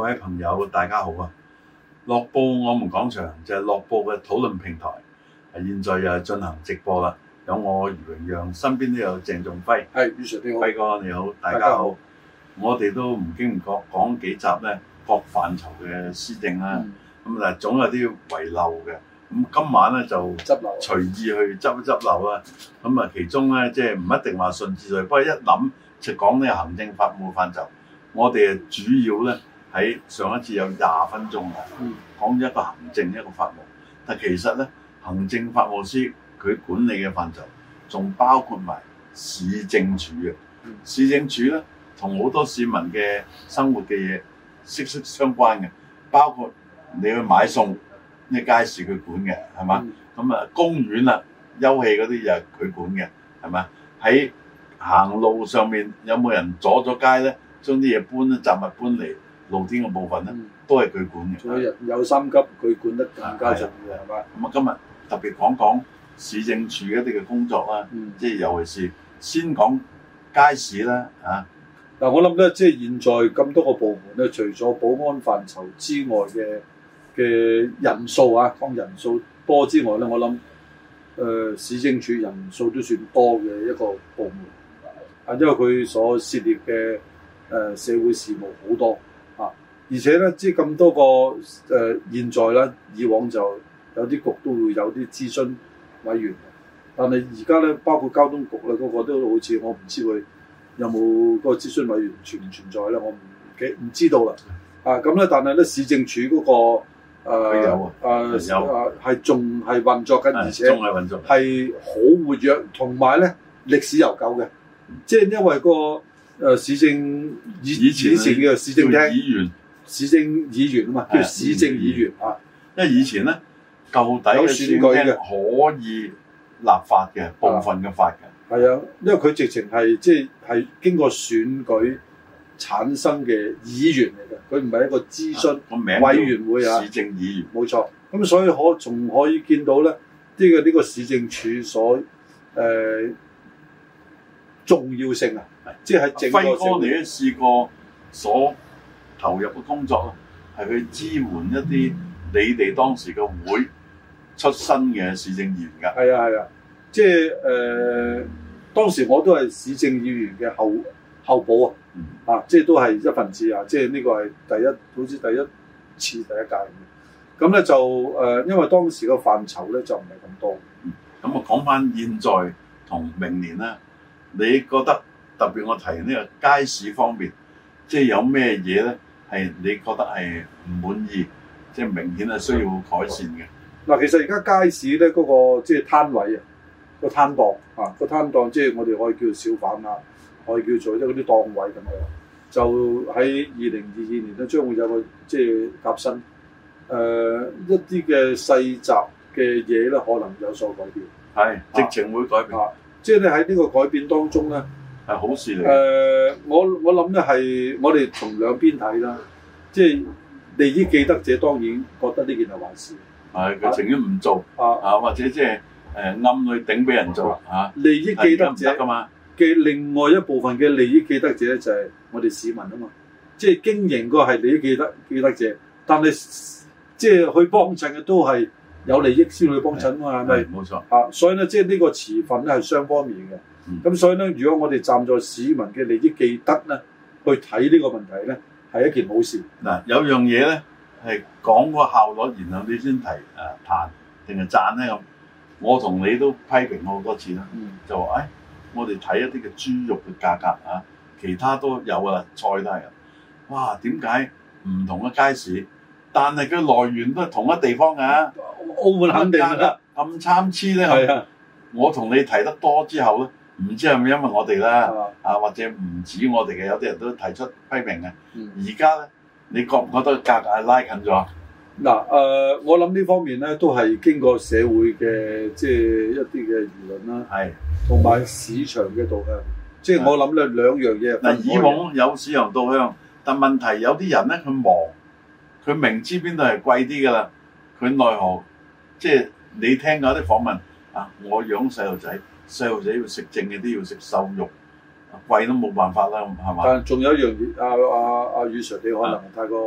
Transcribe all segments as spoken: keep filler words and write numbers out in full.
位朋友，大家好啊！樂報我們講場就係樂報嘅討論平台，現在又係進行直播啦。有我余榮陽，身邊都有鄭仲輝。 係，余 Sir 你好， 輝哥你好，大家好。家好我哋都唔經唔覺講幾集咧，各範疇嘅施政啦。咁但係總有啲遺漏嘅。咁今晚咧就執漏，隨意去執一執漏啦。咁啊，其中咧即係唔一定話順次序，不過一諗就講呢個行政法務範疇。我哋主要咧喺上一次有廿分鐘啊，講一個行政一個法務，但其實咧行政法務司佢管理嘅範疇仲包括埋市政署嘅。市政署咧同好多市民嘅生活嘅嘢息息相關嘅，包括你去買餸，呢街市佢管嘅係嘛？咁啊、嗯、公園啊休憩嗰啲又係佢管嘅係嘛？喺行路上面有冇人阻咗街咧？將啲嘢搬咧，雜物搬嚟露天嘅部分咧，都係佢管嘅。 仲有有三級，佢管得更加重要係嘛？ 咁啊，今日特別講講市政署一啲嘅工作啦，嗯、即係尤其是先講街市啦嚇。 嗱、啊，我諗咧，即係現在咁多個部門咧，除咗保安範疇之外嘅嘅人數啊，講人數多之外咧，我諗誒、呃、市政署人數都算多嘅一個部門啊，因為佢所涉獵嘅。誒、呃、社會事務好多啊，而且咧，即係咁多個誒、呃，現在咧，以往就有啲局都會有啲諮詢委員，但係而家咧，包括交通局咧，嗰、那個都好似我唔知佢有冇個諮詢委員存唔存在咧，我唔記唔知道啦。啊，咁咧，但係咧，市政署嗰、那個誒有誒誒係仲係運作緊，而且仲係運作係好活躍，同埋咧歷史悠久嘅，即係因為個。誒、呃、市政以以前以前嘅市政廳議員，市政議員啊嘛，叫市政議員啊。 因為以前咧，舊底嘅選舉嘅可以立法嘅部分嘅法嘅。 係啊，因為佢直情係即係係經過選舉產生嘅議員嚟嘅，佢唔係一個諮詢個名委員會啊。 市政議員冇錯。咁所以可仲可以見到咧，呢、這個呢、這個市政署所誒、呃、重要性啊。即係喺輝哥，你都試過所投入嘅工作咧，係去支援一啲你哋當時嘅會出身嘅市政議員㗎。 係啊係啊，即係誒、呃、當時我都係市政議員嘅後後補啊，嗯、啊即係都係一份子啊，即係呢個係第一，好似第一次第一屆咁。咁咧就誒、呃，因為當時個範疇咧就唔係咁多。 咁啊講翻現在同明年啦，你覺得？特別我提呢個街市方面，即係有咩嘢咧係你覺得係唔滿意，即係明顯係需要改善嘅。 嗱，其實而家街市咧嗰個即係攤位啊，個攤檔啊，個攤檔即係我哋可以叫做小販啊，可以叫做即係嗰啲檔位咁樣。就喺二零二二年咧，將會有個即係革新，誒一啲嘅細雜嘅嘢咧，可能有所改變。 係，直情會改變。 啊，即係你喺呢個改變當中咧。 係好事嚟。 誒、呃，我我諗咧係我哋從兩邊睇啦，即係利益既得者當然覺得呢件係壞事。係佢情願唔做啊啊，或者即係誒暗去頂俾人做嚇。啊、 利益既得者嘅另外一部分嘅利益既得者咧就係我哋市民啊嘛，即係經營個係利益既得既得者，但係即係去幫襯嘅都係有利益先去幫襯啊嘛，係咪？ 冇錯。 啊，所以咧即係呢個持份咧係雙方面嘅。咁、嗯、所以咧，如果我哋站在市民嘅利益既得咧，去睇呢個問題咧，係一件好事。 嗱，有樣嘢咧係講個效率，然後你先提誒彈定係讚咧咁。我同你都批評好多次啦，嗯、就話誒、哎，我哋睇一啲嘅豬肉嘅價格啊，其他都有噶啦，菜都係。哇，點解唔同嘅街市，但係佢來源都係同一地方㗎、啊？ 澳門肯定啦， 咁參差咧。係啊，我同你提得多之後咧。唔知係咪因為我哋啦，啊或者唔止我哋嘅，有啲人都提出批評嘅。而家咧，你覺唔覺得價格係拉近咗？ 嗱，誒、呃，我諗呢方面咧都係經過社會嘅即係一啲嘅輿論啦，係同埋市場嘅導向。即係我諗咧兩樣嘢。 嗱，以往有市場導向，但問題有啲人咧佢忙，佢明知邊度係貴啲㗎啦，佢奈何即係你聽過啲訪問啊？我養細路仔。細路仔要食正嘅啲要食瘦肉，貴都冇辦法啦，係嘛？ 但係仲有一樣嘢，阿阿阿余 Sir 你可能太過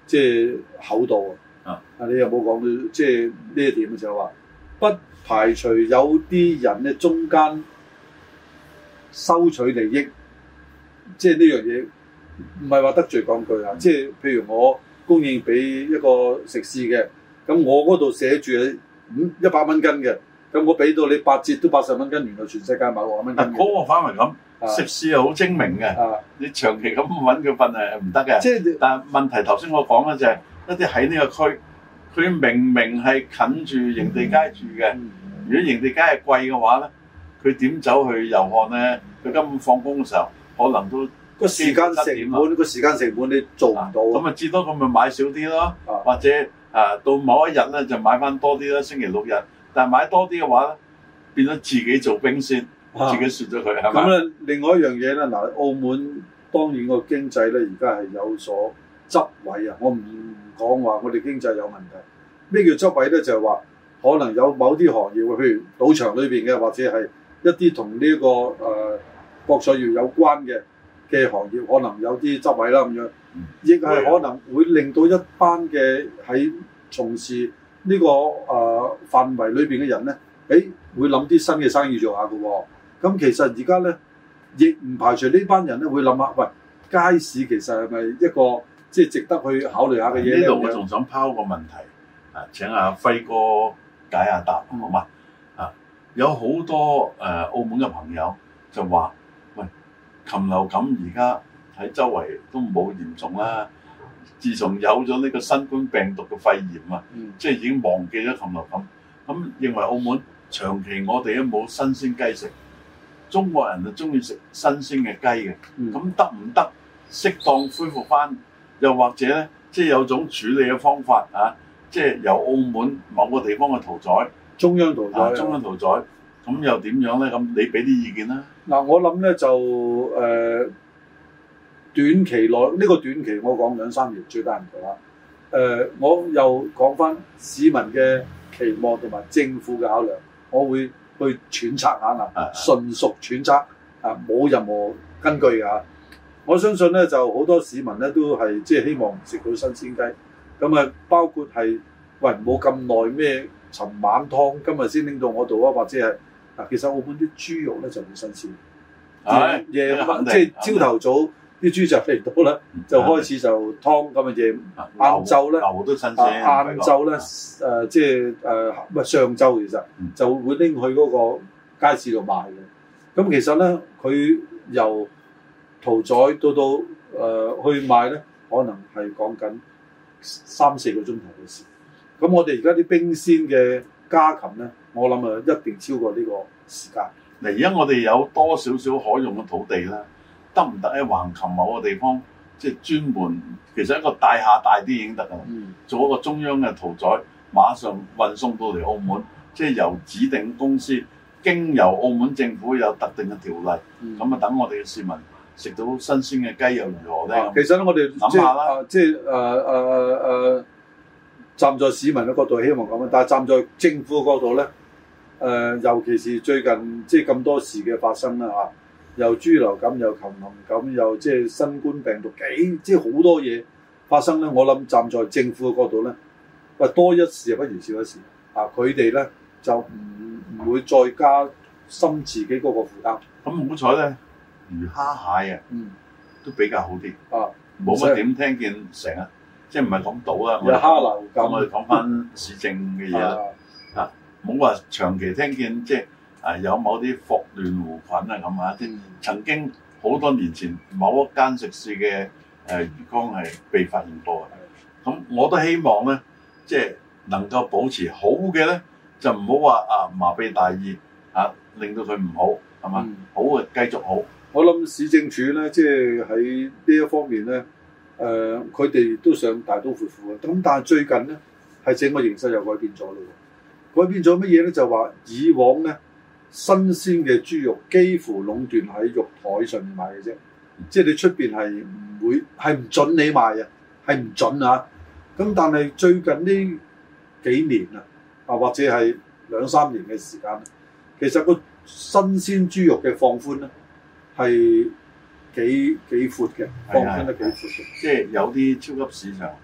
即係厚道啊！啊，你有冇講到即係呢一點就係話，不排除有啲人咧中間收取利益，即係呢樣嘢唔係話得罪講句啊！嗯、即係譬如我供應俾一個食肆嘅，咁我嗰度寫住五一百蚊斤嘅，咁我俾到你八折都八十蚊斤，原來全世界買六十蚊斤。 嗰個反為咁。食肆係好精明嘅，啊、你長期咁揾佢份係唔得嘅。即係，但係問題頭先我講嘅就係、是、一啲喺呢個區，佢明明係近住營地街住嘅。嗯、如果營地街係貴嘅話咧，佢點走去遊看咧？佢根本放工嘅時候，可能都個時間成本，個時間成本你做唔到。 咁啊，至多咁咪買少啲咯，啊、或者啊到某一日咧就買翻多啲啦，星期六日。但係買多啲嘅話咧，變咗自己做兵先。自己説咗佢係嘛？咁咧， 另外一樣嘢咧，嗱，澳門當然個經濟咧，而家係有所執位啊！我唔講話我哋經濟有問題。咩叫執位咧？就係話可能有某啲行業，譬如賭場裏邊嘅，或者係一啲同呢個誒博彩業有關嘅嘅行業，可能有啲執位啦咁樣，亦係、嗯、可能會令到一班嘅喺從事呢個誒範圍裏邊嘅人咧，誒會諗啲新嘅生意做下嘅喎。咁其實而家咧，亦唔排除呢班人咧會諗下，喂，街市其實係咪一個即係值得去考慮下嘅嘢咧？ 呢度我仲想拋個問題，啊，請阿輝哥解下答，好嘛？啊，有好多誒、呃、澳門嘅朋友就話，喂，禽流感而家喺周圍都冇嚴重啦。自從有咗呢個新冠病毒嘅肺炎啊，嗯、即係已經忘記咗禽流感。咁認為澳門長期我哋都冇新鮮雞食。中國人就中意食新鮮嘅雞嘅，咁得唔得適當恢復翻？又或者咧，即係有種處理嘅方法啊，即係由澳門某個地方嘅屠宰， 中央屠宰， 啊、中央屠宰，咁又點樣咧？咁你俾啲意見啦。 嗱、呃，我諗咧就誒、呃、短期內呢、呢個短期我講兩三年最得人做啦。誒、呃，我又講翻市民嘅期望同埋政府嘅考量，我會去揣測下嗱，純屬揣測啊，冇任何根據㗎。我相信咧，就好多市民咧都係即係希望食到新鮮雞。咁啊，包括係喂冇咁耐咩，尋晚湯今日先拎到我度啊，或者係嗱，其實澳門啲豬肉咧就好新鮮。係夜晚即係朝頭早啲豬就嚟到啦，就開始就湯咁啊，夜晏晝咧牛都新鮮。 晏晝咧誒，即係誒唔係上晝其實就會拎去嗰個街市度賣嘅。咁其實咧，佢由屠宰到到誒、呃、去賣咧，可能係講緊三四個鐘頭嘅事。咁我哋而家啲冰鮮嘅家禽咧，我諗啊一定超過呢個時間。 嗱，而家我哋有多少少可用嘅土地啦，得唔得喺橫琴某個地方，即係專門其實一個大廈大啲已經得㗎啦。嗯、做一個中央嘅屠宰，馬上運送到嚟澳門，即係由指定公司經由澳門政府有特定嘅條例，咁啊等我哋嘅市民食到新鮮嘅雞又如何咧？ 其實咧，我哋諗下啦，即係誒誒誒，站在市民嘅角度希望咁樣，但係站在政府嘅角度咧，誒、呃、尤其是最近即係咁多事嘅發生啦嚇，又豬流感又禽流感又即係新冠病毒幾即係好多嘢發生咧。我諗站在政府嘅角度咧，喂多一事不如少一事啊！佢哋咧就唔唔會再加深自己嗰個負擔。 咁好彩咧。魚蝦蟹啊，嗯，都比較好啲啊，冇乜點聽見成日，即係唔係講賭啦， 有蝦流感， 我哋講翻市政嘅嘢啦，啊，冇話長期聽見即係啊有某啲霍亂弧菌啊咁啊，即係曾經好多年前某一間食肆嘅誒魚缸係被發現過嘅，咁我都希望咧，即係能夠保持好嘅咧，就唔好話啊麻痹大意啊，令到佢唔好係嘛，好嘅繼續好。 我諗市政署咧，即係喺呢一方面咧，誒佢哋都想大刀闊斧嘅。咁但係最近咧，係整個形勢又改變咗咯。改變咗乜嘢咧？就話以往咧，新鮮嘅豬肉幾乎壟斷喺肉台上面賣嘅啫，即係你出邊係唔會係唔準你賣啊，係唔準啊。咁但係最近呢幾年啊，啊或者係兩三年嘅時間，其實個新鮮豬肉嘅放寬咧。係幾幾闊嘅，放寬得幾闊嘅， 即係有啲超級市場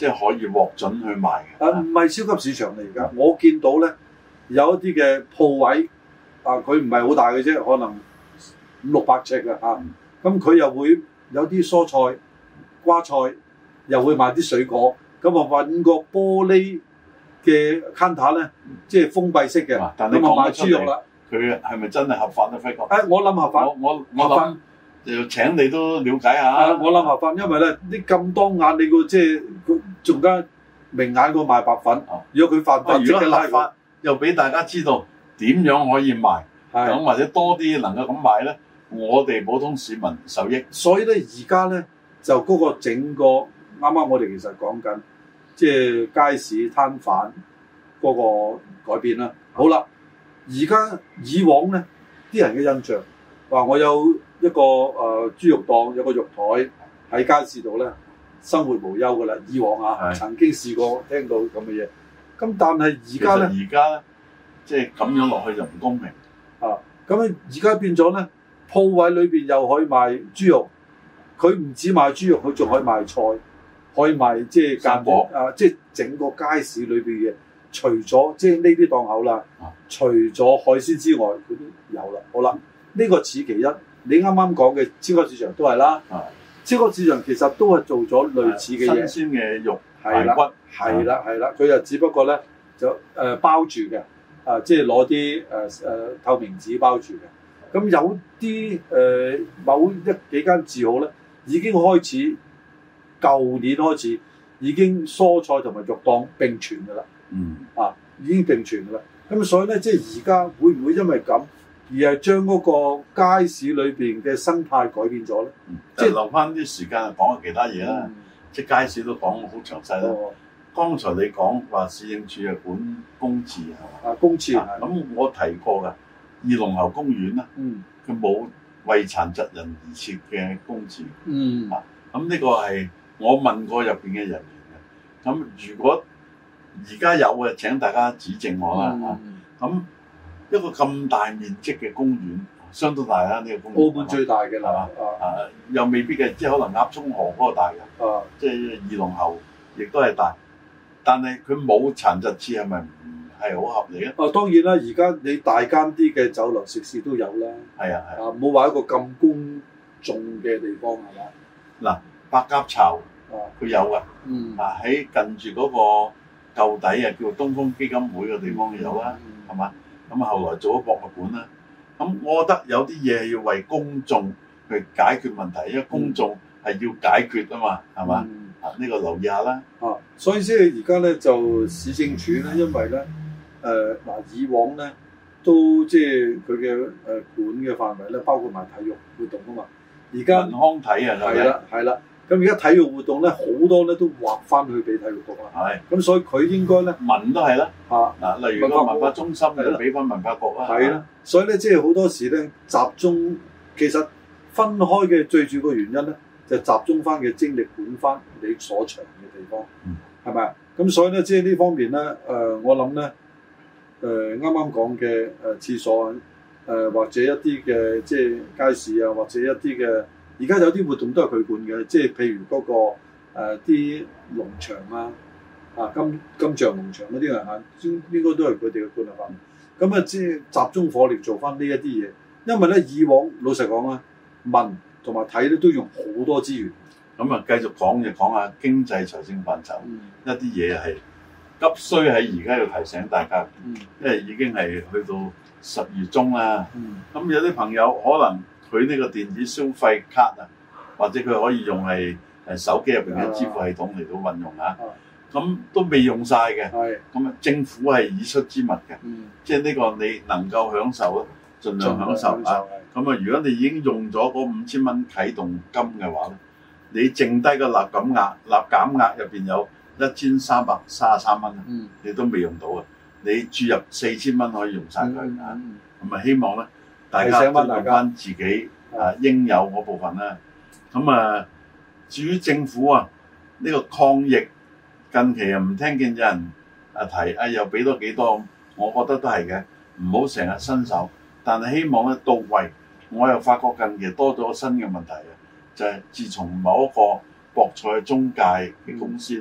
即係可以獲准去賣嘅。 啊，唔係超級市場嚟而家，我見到咧有一啲嘅鋪位啊，佢唔係好大嘅啫，可能五六百尺嘅嚇。咁佢又會有啲蔬菜、瓜菜，又會賣啲水果。咁啊揾個玻璃嘅 counter 咧，即係封閉式嘅。咁啊賣豬肉啦。 佢係咪真係合法咧？輝哥？ 誒，我諗合法。 我我我諗就請你都了解下。 啊，我諗合法，因為咧啲咁當眼，你個即係仲加明眼過賣白粉。如果佢犯法， 如果立法又俾大家知道點樣可以賣，咁或者多啲能夠咁賣咧，我哋普通市民受益。 所以咧，而家咧就嗰個整個啱啱我哋其實講緊，即係街市攤販嗰個改變啦。好啦。而家以往咧，啲人嘅印象話我有一個誒、呃、豬肉檔，有個肉台喺街市度咧，生活無憂㗎啦。以往啊，曾經試過聽到咁嘅嘢。咁但係而家咧， 而家咧，即係咁樣落去就唔公平啊！咁咧而家變咗咧，鋪位裏邊又可以賣豬肉，佢唔止賣豬肉，佢仲可以賣菜，可以賣即係間貨啊！即係整個街市裏邊嘅。除咗即係呢啲檔口啦，啊、除咗海鮮之外，佢都有啦。好啦，呢、呢個此其一。你啱啱講嘅超級市場都係啦，啊、超級市場其實都係做咗類似嘅嘢。 新鮮嘅肉、 排骨，係啦係啦，佢就只不過咧就誒、呃、包住嘅，啊即係攞啲誒誒透明紙包住嘅。咁有啲誒、呃、某一幾間字號咧，已經開始舊年開始已經蔬菜同埋肉檔並存㗎啦。 嗯啊，已經定存㗎啦。咁所以咧，即係而家會唔會因為咁而係將嗰個街市裏邊嘅生態改變咗咧？ 嗯、即係留翻啲時間講下其他嘢啦。嗯、即係街市都講好詳細啦。哦、剛才你講話市政署係管公廁係嘛？啊， 公廁。 咁我提過㗎，二龍喉公園啦，佢冇、嗯、為殘疾人而設嘅公廁。嗯。啊，咁呢個係我問過入邊嘅人員嘅。咁如果而家有嘅，請大家指正我啦嚇。咁、嗯啊、一個咁大面積嘅公園，相當大啦呢、呢個公園。澳門最大嘅啦，啊，啊又未必嘅，即係可能鴨涌河嗰個大嘅，啊，即係二龍喉亦都係大。但係佢冇殘疾廁係咪唔係好合理咧？啊，當然啦，而家你大間啲嘅酒樓食肆都有啦。係啊係啊，冇話、啊、一個咁公眾嘅地方係嘛？嗱、啊，白鴿巢啊，佢有㗎。嗯。啊，喺近住嗰、嗰個。舊底啊，叫做東風基金會嘅地方有啦，係嘛、嗯？咁啊，後來做咗博物館啦。咁我覺得有啲嘢係要為公眾去解決問題，因為公眾係要解決啊嘛，係嘛？嗯、啊，呢、呢個留意下啦。啊，所以即係而家咧就市政署咧，因為咧誒嗱，以往咧都即係佢嘅誒管嘅範圍咧，包括埋體育活動啊嘛。而家健康體啊，係啦係啦。咁而家體育活動咧，好多咧都劃翻去俾體育局啦。係的，咁所以佢應該咧，文都係啦。嚇嗱、啊，例如個文化中心就俾翻文化局啦。係啦，所以咧，即係好多時咧，集中其實分開嘅最主要個原因咧，就集中翻嘅精力管翻你所長嘅地方，係咪啊？咁所以咧，即係呢方面咧，誒、呃，我諗咧，誒啱啱講嘅誒廁所啊，誒、呃、或者一啲嘅即係街市啊，或者一啲嘅。而家有啲活動都係佢管嘅，即係譬如嗰、那個啲、呃、農場啊，啊金金像農場嗰啲啊，應應該都係佢哋嘅管轄範圍。咁啊，即係集中火力做翻呢一啲嘢，因為咧以往老實講啊，文同埋體咧都用好多資源。咁啊，繼續講就講下經濟財政範疇，嗯、一啲嘢係急需喺而家要提醒大家，嗯、因為已經係去到十月中啦。咁、嗯、有啲朋友可能。佢呢個電子消費卡啊，或者佢可以用係誒手機入邊嘅支付系統嚟到運用啊，咁都未用晒嘅。咁啊，政府係已出之物嘅，嗯、即係呢個你能夠享受咯，盡量享受啊。咁啊，如果你已經用咗嗰五千蚊啟動金嘅話咧，你剩低個立減額、立減額入邊有一千三百三十三蚊，嗯、你都未用到啊！你注入四千蚊可以用晒佢啊！咁啊，希望咧。大家都用翻自己啊應有嗰部分啦。咁啊，至於政府啊，呢、這個抗疫近期又唔聽見有人啊提啊，又俾多幾多，我覺得都係嘅，唔好成日伸手。但係希望咧到位。我又發覺近期多咗新嘅問題啊，就係、是、自從某一個博彩中介嘅公司咧，嗯、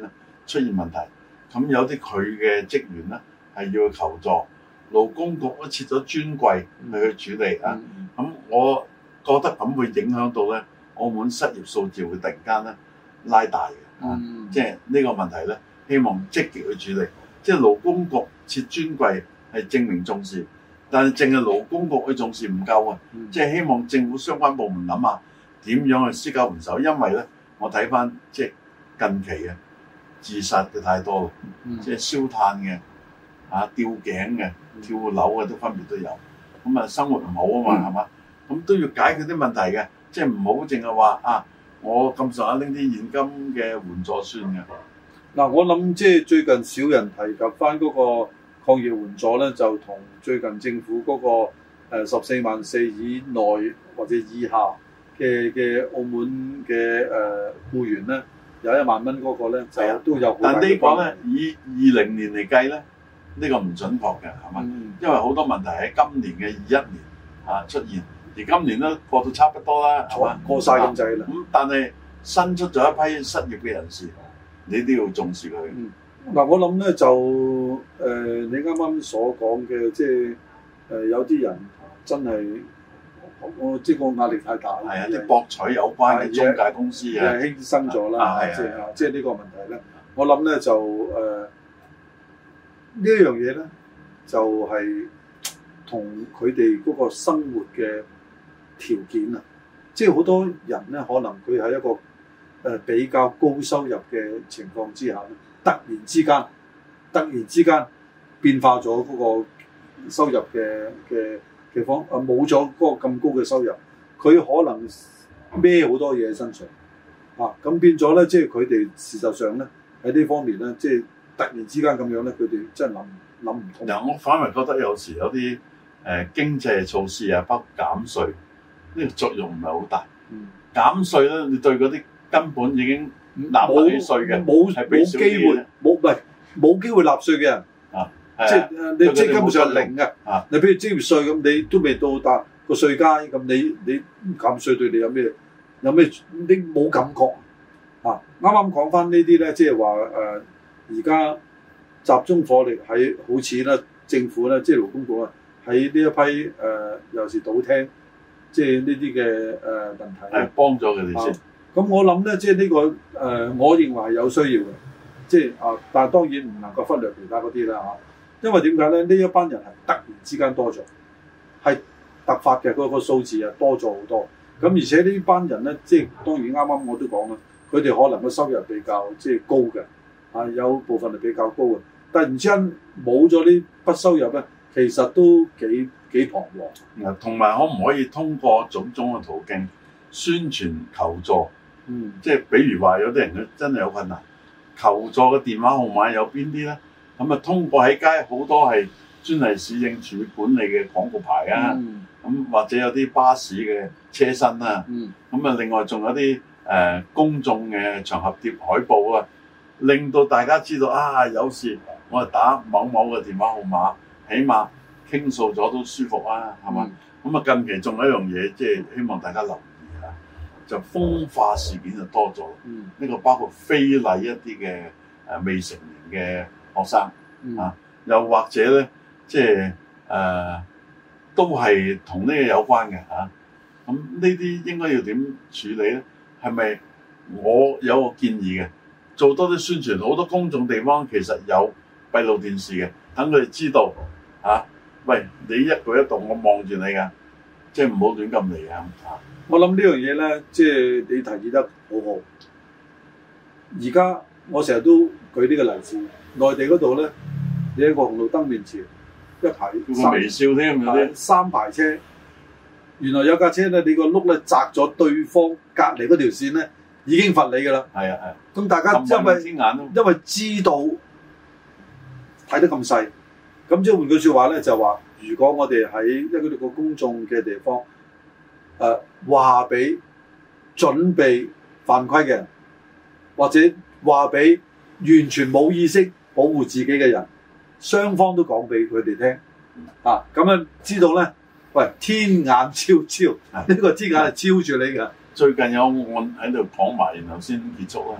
出現問題，咁有啲佢嘅職員咧係要去求助，勞工局都設咗專櫃去去處理啊。咁、嗯、我覺得咁會影響到咧澳門失業數字會突然間咧拉大嘅，啊嗯、即係呢個問題咧，希望積極去處理。即係勞工局設專櫃係證明重視，但係淨係勞工局去重視唔夠啊！嗯、即係希望政府相關部門諗下點樣去施救援手，因為咧我睇翻即係近期嘅自殺嘅太多啦，嗯、即係燒炭嘅、啊吊頸嘅、跳樓嘅都分別都有，咁啊生活唔好啊嘛，係嘛、嗯？咁都要解決啲問題嘅，即係唔好淨係話啊我咁上下拎啲現金嘅援助算嘅。 嗱，我諗即係最近少人提及翻嗰個抗疫援助咧，就同最近政府嗰個誒十四萬四以內或者以下嘅嘅澳門嘅誒僱員咧，有一萬蚊嗰個咧就都有好大嘅。 但呢個咧以二零年嚟計咧，呢個唔準確嘅係嘛？嗯、因為好多問題喺今年嘅二一年啊出現，而今年都過到差不多啦，係嘛？ 過晒咁滯啦。 咁但係新出咗一批失業嘅人士。你都要重視佢。 嗯，嗱，我諗咧就誒、呃，你啱啱所講嘅，即係誒、呃、有啲人真係我即係個壓力太大。係啊，啲博彩有關嘅中介公司啊，犧牲咗啦。即係即係呢個問題咧，我諗咧就誒、呃、呢一樣嘢咧，就係同佢哋嗰個生活嘅條件啊，即係好多人咧，可能佢喺一個誒比較高收入嘅情況之下咧，突然之間，突然之間變化咗嗰個收入嘅嘅嘅方，啊冇咗嗰個咁高嘅收入，佢可能孭好多嘢喺身上，啊咁變咗咧，即係佢哋事實上咧喺呢方面咧，即係突然之間咁樣咧，佢哋真係諗諗唔通。 嗱，我反而覺得有時有啲誒、呃、經濟措施啊，包括減稅，呢、這個作用唔係好大。嗯，減稅咧，你對嗰啲根本已經納唔起稅嘅， 冇冇機會，冇唔係冇機會納稅嘅人啊，即係你即係根本上係零嘅。啊，你譬如職業稅咁，你都未到達個稅階，咁你你減稅對你有咩有咩？你冇感覺啊？啱啱講翻呢啲咧，即係話誒，而家集中火力喺好似咧政府咧，即係勞工局啊，喺呢一批誒，尤其是賭廳，即係呢啲嘅誒問題， 係幫咗佢哋先。 咁我諗咧，即係呢個誒、呃，我認為係有需要嘅，即係啊，但係當然唔能夠忽略其他嗰啲啦嚇。因為點解咧？呢一班人係突然之間多咗，係突發嘅嗰、嗰個數字啊多咗好多。咁而且呢班人咧，即係當然啱啱我都講啦，佢哋可能個收入比較即係高嘅，啊有部分係比較高嘅。突然之間冇咗呢筆收入咧，其實都幾幾彷徨。 同埋可唔可以通過種種嘅途徑宣傳求助？嗯，即係比如話有啲人佢真係有困難，求助嘅電話號碼有邊啲咧？咁啊，通過喺街好多係專係市政署管理嘅廣告牌啊，咁、嗯、或者有啲巴士嘅車身啊，咁啊、嗯，另外仲有啲誒、呃、公眾嘅場合貼海報啊，令到大家知道啊，有時我係打某某嘅電話號碼，起碼傾訴咗都舒服啊，係嘛？咁啊、嗯，近期仲有一樣嘢，即係希望大家留意啊，就風化事件就多咗。呢、嗯、個包括非禮一啲嘅誒未成年嘅學生、嗯、啊，又或者咧，即係誒、呃、都係同呢個有關嘅嚇。咁呢啲應該要點處理咧？係咪我有個建議嘅，做多啲宣傳，好多公眾地方其實有閉路電視嘅，等佢哋知道嚇、啊。喂，你一舉一動我望住你㗎，即係唔好亂咁嚟啊！ 我諗呢樣嘢咧，即係你提議得好好。而家我成日都舉呢個例子，內地嗰度咧，你喺個紅綠燈面前一排三微笑添，嗰啲三排車，原來有架車咧，你個轆咧砸咗對方隔離嗰條線咧，已經罰你㗎啦。係啊係。咁大家因為因為知道睇得咁細。咁即係換句説話咧，就話如果我哋喺一個個公眾嘅地方，誒話俾準備犯規嘅人，或者話俾完全冇意識保護自己嘅人，雙方都講俾佢哋聽，啊咁樣知道咧，喂天眼超超，呢、嗯、個天眼係超住你㗎。 最近有案喺度講埋，然後先結束啦。嗯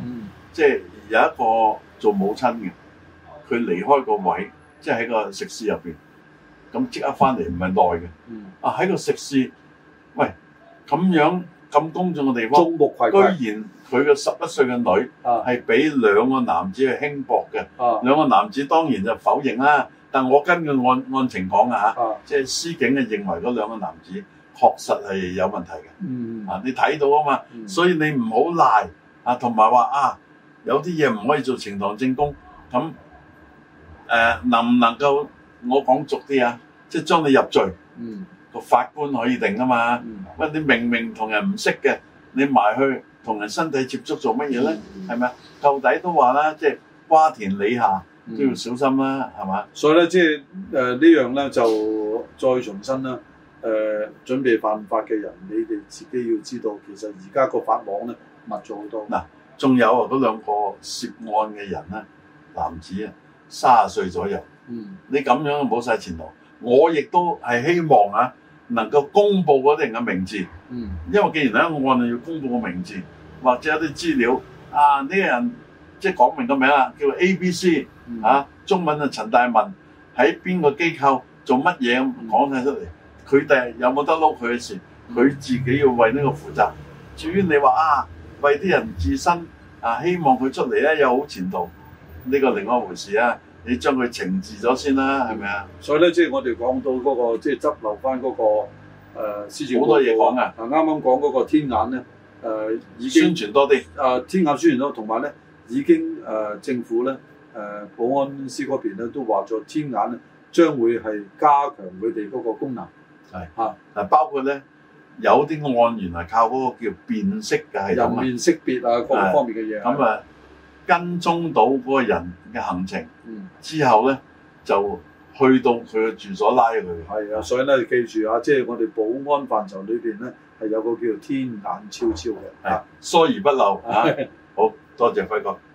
即係有一個做母親嘅，佢離開個位，即係喺個食肆入邊，咁即刻翻嚟唔係耐嘅。 嗯、 啊喺個食肆，喂咁樣咁公眾嘅地方， 眾目睽睽居然佢嘅十一歲嘅女係俾兩個男子去輕薄嘅。 啊、 兩個男子當然就否認啦，但我根據案案情講啊嚇， 啊即係司警嘅認為嗰兩個男子確實係有問題嘅。 嗯、 啊，你睇到啊嘛， 嗯、 所以你唔好賴啊，同埋話啊，有啲嘢唔可以做呈堂證供，咁誒、呃、能唔能夠我講俗啲啊，即係將你入罪，個、嗯、法官可以定啊嘛。喂、嗯，你明明同人唔識嘅，你埋去同人身體接觸做乜嘢咧？係咪啊？到底都話啦，即係瓜田李下都要小心啦，係嘛、嗯？ 所以咧，即係誒呢樣咧，就再重申啦。誒、呃、準備犯法嘅人，你哋自己要知道，其實而家個法網咧密咗好多。 嗱，仲有啊，嗰兩個涉案嘅人咧，男子啊，三十歲左右。嗯，你咁樣冇晒前途。我亦都係希望啊，能夠公佈嗰啲人嘅名字。嗯，因為既然喺案要公佈個名字，或者有啲資料啊，呢個人即係講明個名啦，叫 A B C、嗯、啊，中文啊陳大文喺邊個機構做乜嘢講晒出嚟。佢哋有冇得撈佢嘅事，佢自己要為呢個負責。至於你話啊，為啲人自身啊，希望佢出嚟咧有好前途，呢、這個另外一回事啊。你將佢懲治咗先啦，係咪啊？ 所以咧，即係我哋講到嗰、那個即係執漏翻嗰個誒施政報告， 好多嘢講啊。 嗱，啱啱講嗰個天眼咧，誒、呃、已經宣傳多啲。誒、 呃、天眼宣傳多，同埋咧已經誒、呃、政府咧誒、呃、保安司嗰邊咧都話咗天眼咧將會係加強佢哋嗰個功能。係嚇， 嗱，包括咧有啲案原來靠嗰個叫辨識嘅系統啊， 人面識別啊，各方面嘅嘢。 咁啊，跟蹤到嗰個人嘅行程，嗯、之後咧就去到佢嘅住所拉佢。係啊，所以咧記住啊，即係我哋保安範疇裏邊咧係有個叫做天眼超超嘅， 係疏而不漏啊。好多謝輝哥。